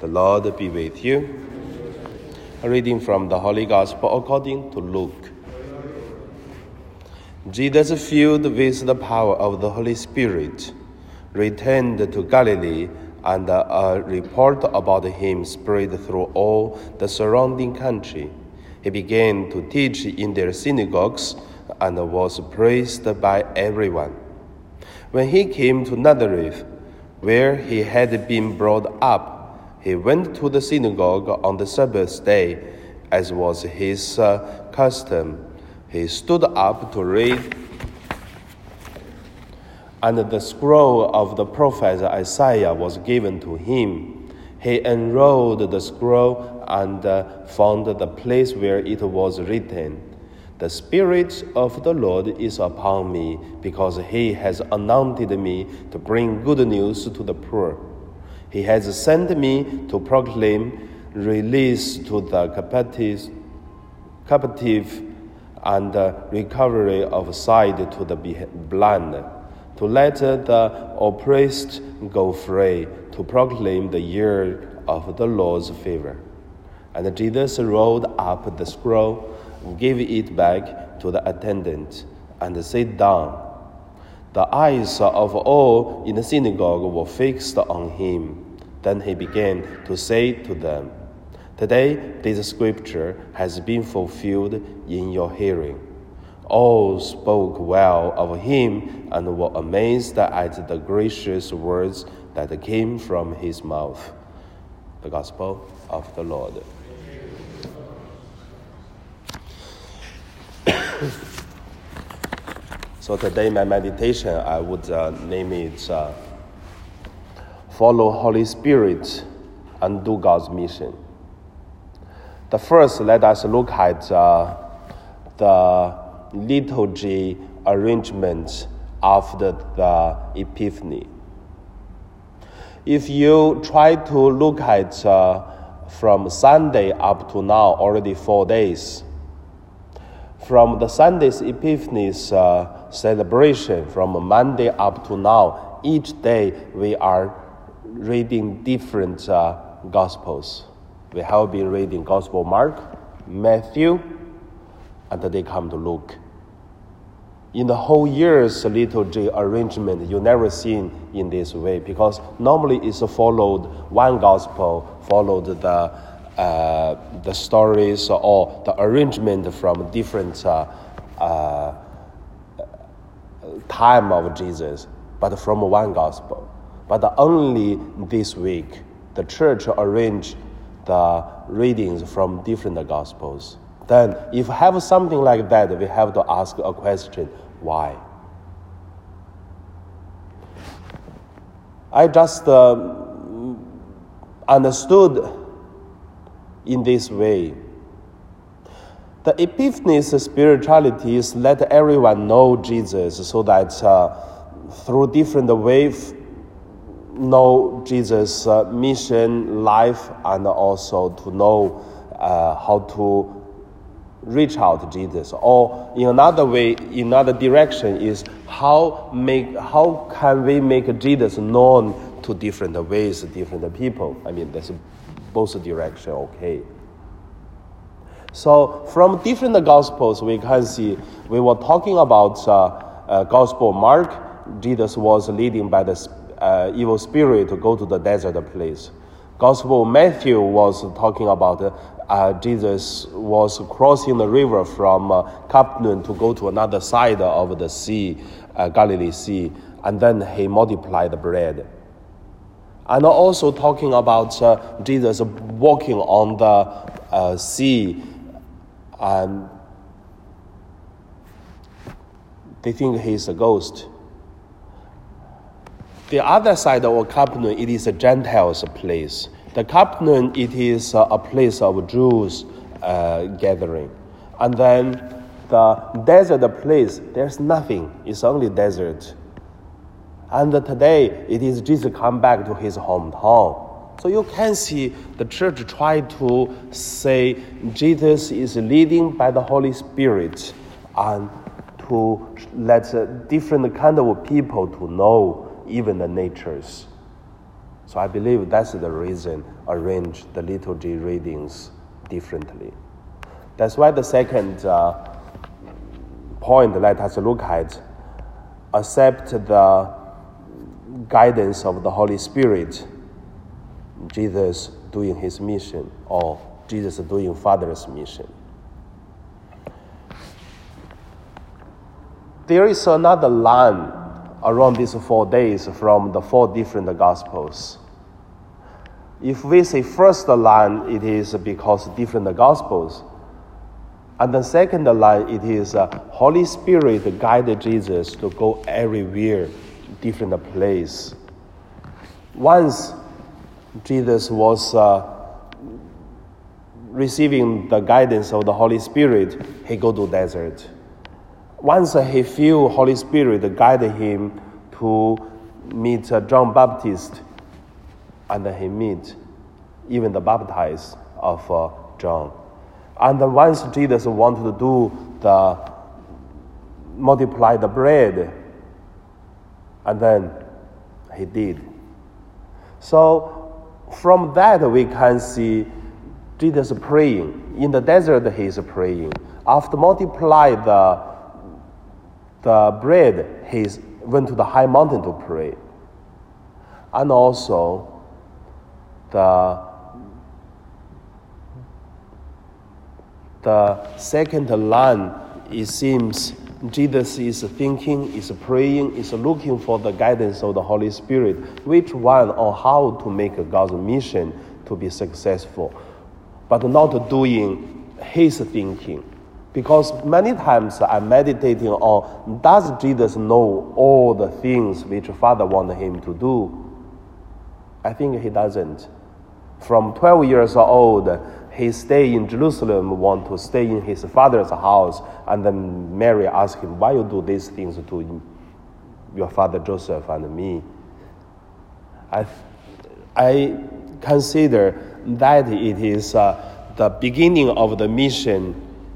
The Lord be with you. A reading from the Holy Gospel according to Luke. Jesus, filled with the power of the Holy Spirit, returned to Galilee, and a report about him spread through all the surrounding country. He began to teach in their synagogues and was praised by everyone. When he came to Nazareth, where he had been brought up, he went to the synagogue on the Sabbath day, as was his custom. He stood up to read, and the scroll of the prophet Isaiah was given to him. He unrolled the scroll and found the place where it was written, "The Spirit of the Lord is upon me, because he has anointed me to bring good news to the poor. He has sent me to proclaim release to the captive and recovery of sight to the blind, to let the oppressed go free, to proclaim the year of the Lord's favor." And Jesus rolled up the scroll, gave it back to the attendant, and sat down. The eyes of all in the synagogue were fixed on him. Then he began to say to them, "Today this scripture has been fulfilled in your hearing." All spoke well of him and were amazed at the gracious words that came from his mouth. The Gospel of the Lord. So today my meditation, I would name it Follow Holy Spirit and Do God's Mission. The first, let us look at the liturgy arrangement after the Epiphany. If you try to look at from Sunday up to now, already 4 days, from the Sunday's Epiphany's celebration, from Monday up to now, each day we are reading different Gospels. We have been reading Gospel Mark, Matthew, and they come to Luke. In the whole year's liturgy arrangement, you never seen in this way, because normally it's followed one Gospel, followed the stories or the arrangement from different time of Jesus, but from one Gospel. But only this week, the church arranged the readings from different Gospels. Then, if we have something like that, we have to ask a question: why? I just understood in this way. The Epiphany's spirituality is let everyone know Jesus, so that through different ways know Jesus' mission, life, and also to know how to reach out to Jesus. Or in another way, in another direction, is how can we make Jesus known to different ways, different people? I mean, that's both direction, okay. So from different Gospels, we can see, we were talking about Gospel Mark. Jesus was leading by the evil spirit to go to the desert place. Gospel Matthew was talking about Jesus was crossing the river from Capernaum to go to another side of the sea, Galilee Sea, and then he multiplied the bread. And also talking about Jesus walking on the sea, and they think he's a ghost. The other side of Capernaum, it is a Gentiles' place. The Capernaum, it is a place of Jews gathering. And then the desert place, there's nothing. It's only desert. And today, it is Jesus come back to his hometown. So you can see the church try to say Jesus is leading by the Holy Spirit, and to let different kind of people to know even the natures. So I believe that's the reason arrange the liturgy readings differently. That's why the second point let us look at, accept the guidance of the Holy Spirit, Jesus doing his mission, or Jesus doing Father's mission. There is another line around these 4 days from the 4 different Gospels. If we say first line, it is because different Gospels. And the second line, it is Holy Spirit guided Jesus to go everywhere, different place. Once Jesus was receiving the guidance of the Holy Spirit, he go to desert. Once he feel Holy Spirit guided him to meet John Baptist, and he meet even the baptize of John. And once Jesus wanted to do the multiply the bread, and then he did. So from that we can see Jesus praying. In the desert he is praying. After multiply the bread, he went to the high mountain to pray. And also the second line, it seems Jesus is thinking, is praying, is looking for the guidance of the Holy Spirit, which one or how to make God's mission to be successful, but not doing his thinking. Because many times I'm meditating on, does Jesus know all the things which Father wanted him to do? I think he doesn't. From 12 years old, he stayed in Jerusalem, want to stay in his father's house, and then Mary asked him, why you do these things to your father Joseph and me? I consider that it is the beginning of the mission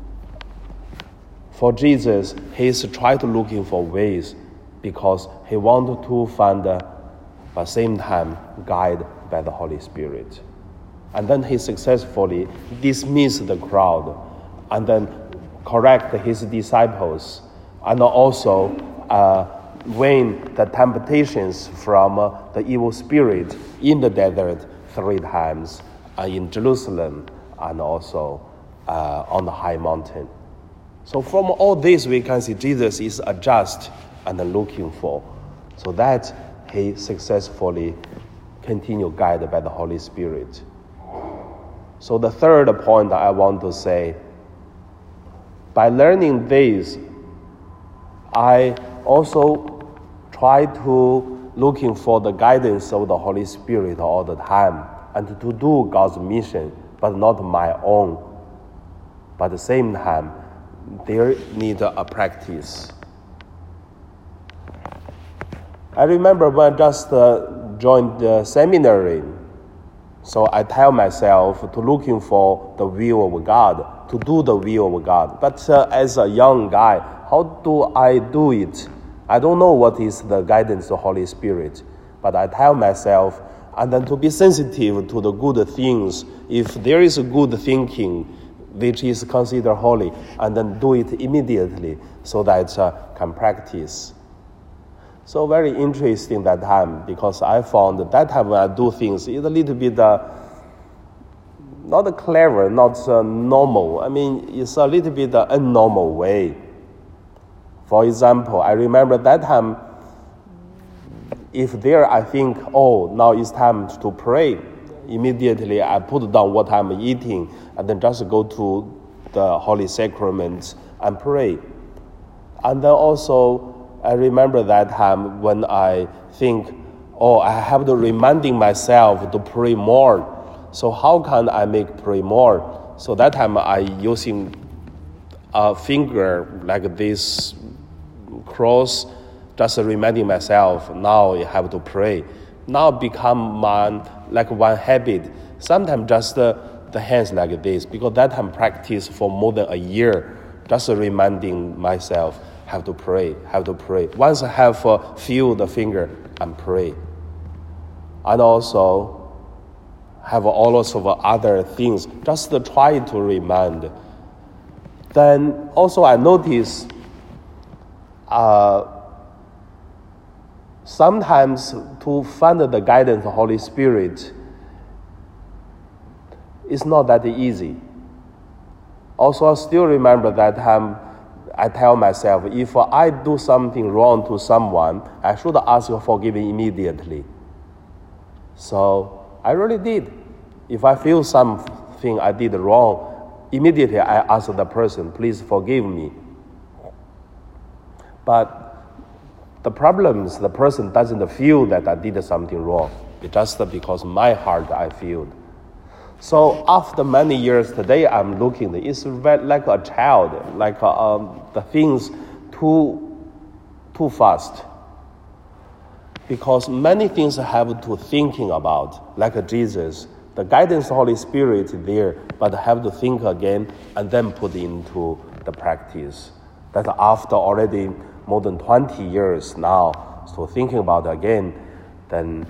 for Jesus. He is trying to looking for ways because he wanted to find, at the same time, guided by the Holy Spirit. And then he successfully dismissed the crowd and then correct his disciples, and also win the temptations from the evil spirit in the desert 3 times, in Jerusalem, and also on the high mountain. So from all this, we can see Jesus is adjust and looking for, so that he successfully continue guided by the Holy Spirit. So the third point I want to say, by learning this, I also try to looking for the guidance of the Holy Spirit all the time, and to do God's mission, but not my own. But at the same time, there need a practice. I remember when I just joined the seminary, so I tell myself to looking for the will of God, to do the will of God. But as a young guy, how do I do it? I don't know what is the guidance of the Holy Spirit, but I tell myself, and then to be sensitive to the good things. If there is a good thinking, which is considered holy, and then do it immediately so that can practice. So very interesting that time, because I found that time when I do things, it's a little bit not clever, not normal. I mean, it's a little bit unnormal way. For example, I remember that time, if there I think, oh, now it's time to pray, immediately I put down what I'm eating and then just go to the Holy Sacraments and pray. And then also, I remember that time when I think, oh, I have to reminding myself to pray more. So how can I make pray more? So that time I using a finger like this cross, just reminding myself, now I have to pray. Now become like one habit. Sometimes just the hands like this, because that time practice for more than a year, just reminding myself, have to pray. Once I have feel the finger, and pray. and also have all sorts of other things, just to try to remind. Then also I notice sometimes to find the guidance of the Holy Spirit is not that easy. Also, I still remember that time I tell myself, if I do something wrong to someone, I should ask for forgiveness immediately. So I really did. If I feel something I did wrong, immediately I ask the person, please forgive me. But the problem is the person doesn't feel that I did something wrong. It's just because my heart I feel. So after many years today, I'm looking, it's like a child, like the things too fast. Because many things I have to thinking about, like Jesus. The guidance of the Holy Spirit is there, but I have to think again and then put into the practice. That after already more than 20 years now, so thinking about it again, then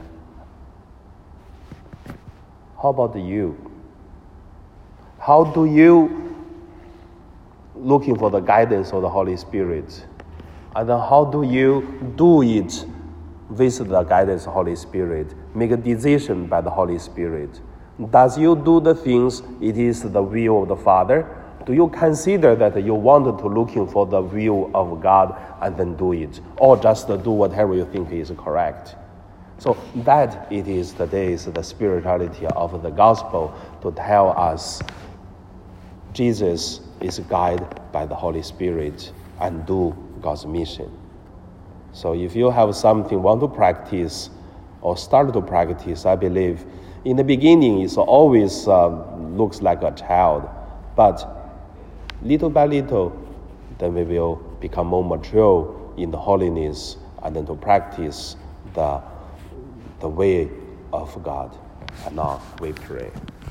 how about you? How do you looking for the guidance of the Holy Spirit? And then how do you do it with the guidance of the Holy Spirit? Make a decision by the Holy Spirit. Does you do the things, it is the will of the Father? Do you consider that you wanted to looking for the will of God and then do it? Or just do whatever you think is correct? So that it is today's the spirituality of the gospel, to tell us Jesus is guided by the Holy Spirit and do God's mission. So if you have something want to practice or start to practice, I believe in the beginning it always looks like a child, but little by little, then we will become more mature in the holiness and then to practice the way of God. And now we pray.